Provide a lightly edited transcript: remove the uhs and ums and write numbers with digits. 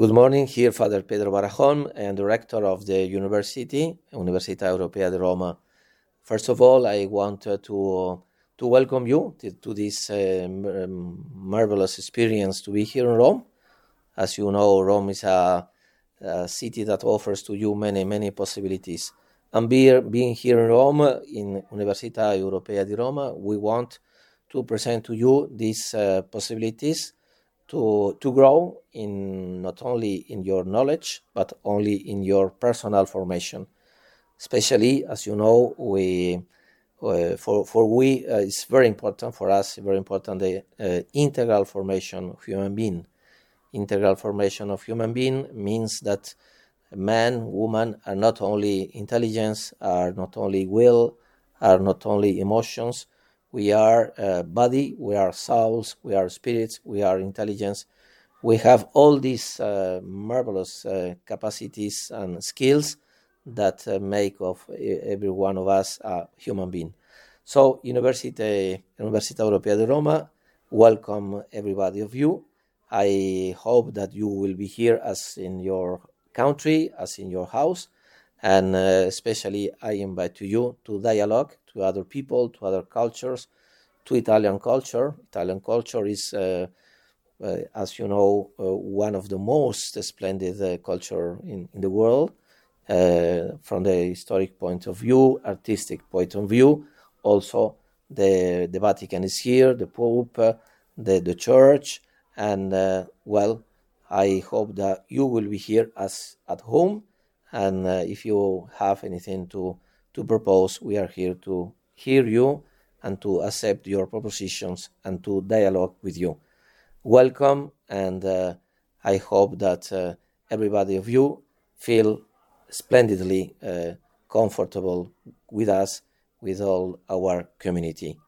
Good morning. Here, Father Pedro Barajón, I am director of the university, Università Europea di Roma. First of all, I want to welcome you to this marvelous experience to be here in Rome. As you know, Rome is a city that offers to you many possibilities. And being here in Rome, in Università Europea di Roma, we want to present to you these possibilities to grow in not only in your knowledge, but only in your personal formation. Especially, as you know, it's very important for us, very important the integral formation of human being. Integral formation of human being means that man, woman are not only intelligence, are not only will, are not only emotions. We are body, we are souls, we are spirits, we are intelligence. We have all these marvelous capacities and skills that make of every one of us a human being. So, Università Europea di Roma, welcome everybody of you. I hope that you will be here as in your country, as in your house, and especially I invite you to dialogue to other people, to other cultures, to Italian culture. Italian culture is, as you know, one of the most splendid culture in the world, from the historic point of view, artistic point of view. Also, the Vatican is here, the Pope, the Church, and I hope that you will be here as at home. And if you have anything to propose, we are here to hear you and to accept your propositions and to dialogue with you. Welcome, and I hope that everybody of you feel splendidly comfortable with us, with all our community.